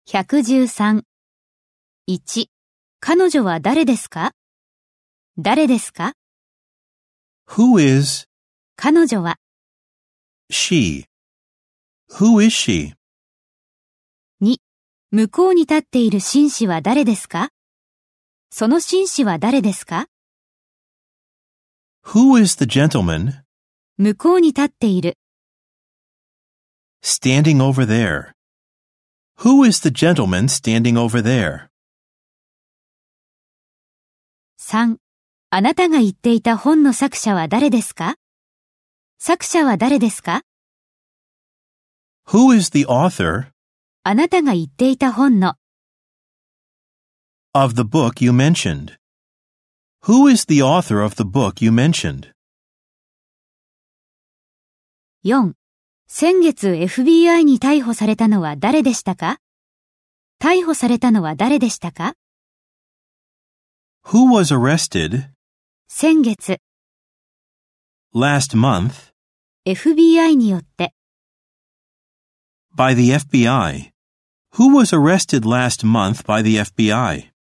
113。1、彼女は誰ですか？誰ですか？ Who is 彼女は。 she? Who is she? 2、向こうに立っている紳士は誰ですか？その紳士は誰ですか？ Who is the gentleman 向こうに立っている。 standing over there? Who is the gentleman standing over there? 3、あなたが言っていた本の作者は誰ですか？作者は誰ですか？ Who is the author あなたが言っていた本の。 of the book you mentioned? Who is the author of the book you mentioned? 4、先月 FBI に逮捕されたのは誰でしたか？逮捕されたのは誰でしたか？ Who was arrested 先月、 last month FBI によって。 by the FBI? Who was arrested last month by the FBI?